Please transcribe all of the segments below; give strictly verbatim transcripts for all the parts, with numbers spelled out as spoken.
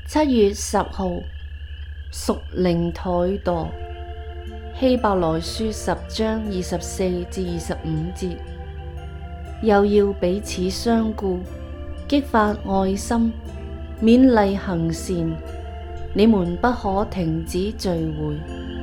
七月十號，屬靈怠惰，希伯來書十章二十四至二十五節，又要彼此相顧，激發愛心，勉勵行善，你們不可停止聚會。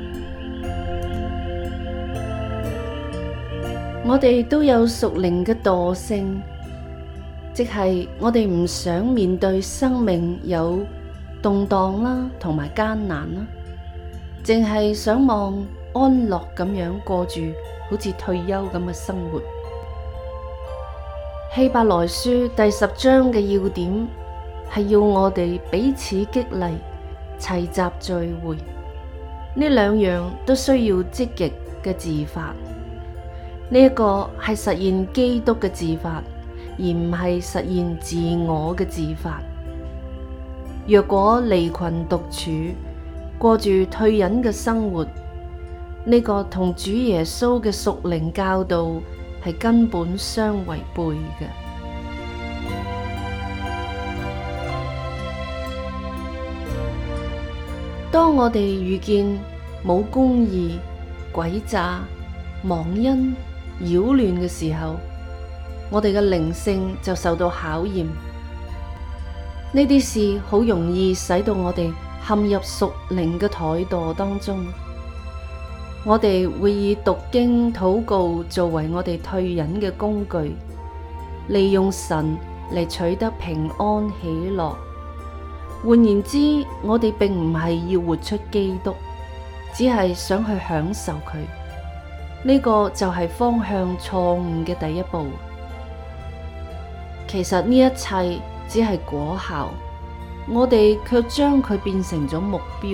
我哋都有屬靈嘅惰性，即係我哋唔想面對生命有動盪啦，同埋艱難啦，淨係想望安樂咁樣過住好似退休咁嘅生活。希伯來書第十章嘅要點係要我哋彼此激勵，齊集聚會，呢兩樣都需要積極嘅自發。呢一個係實現基督嘅自發，而唔係實現自我嘅自發。若果離群獨處，過住退隱嘅生活，呢個同主耶穌嘅屬靈教導係根本相違背嘅。當我哋遇見冇公義、詭詐、忘恩、擾亂嘅時候，我哋嘅靈性就受到考驗。呢啲事好容易使到我哋陷入屬靈嘅怠惰當中。我哋會以讀經、禱告作為我哋退隱嘅工具，利用神嚟取得平安喜樂。換言之，我哋並唔係要活出基督，只係想去享受佢。呢個就係方向錯誤嘅第一步。其實呢一切只係果效，我哋卻將佢變成咗目標。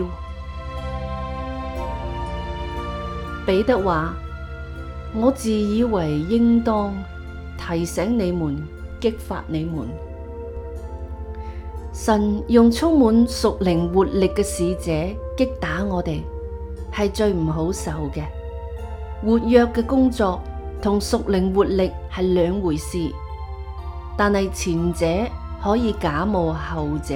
彼得話：我自以為應當提醒你們，激發你們。神用充滿屬靈活力嘅使者擊打我哋，係最唔好受嘅。活躍嘅工作同屬靈活力係兩回事，但係前者可以假冒後者。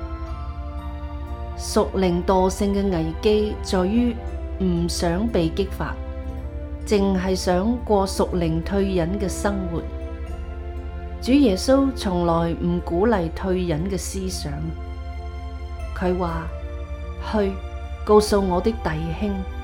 屬靈惰性嘅危機在於唔想被激發，淨係想過屬靈退隱嘅生活。主耶穌從來唔鼓勵退隱嘅思想，佢話：去告訴我的弟兄。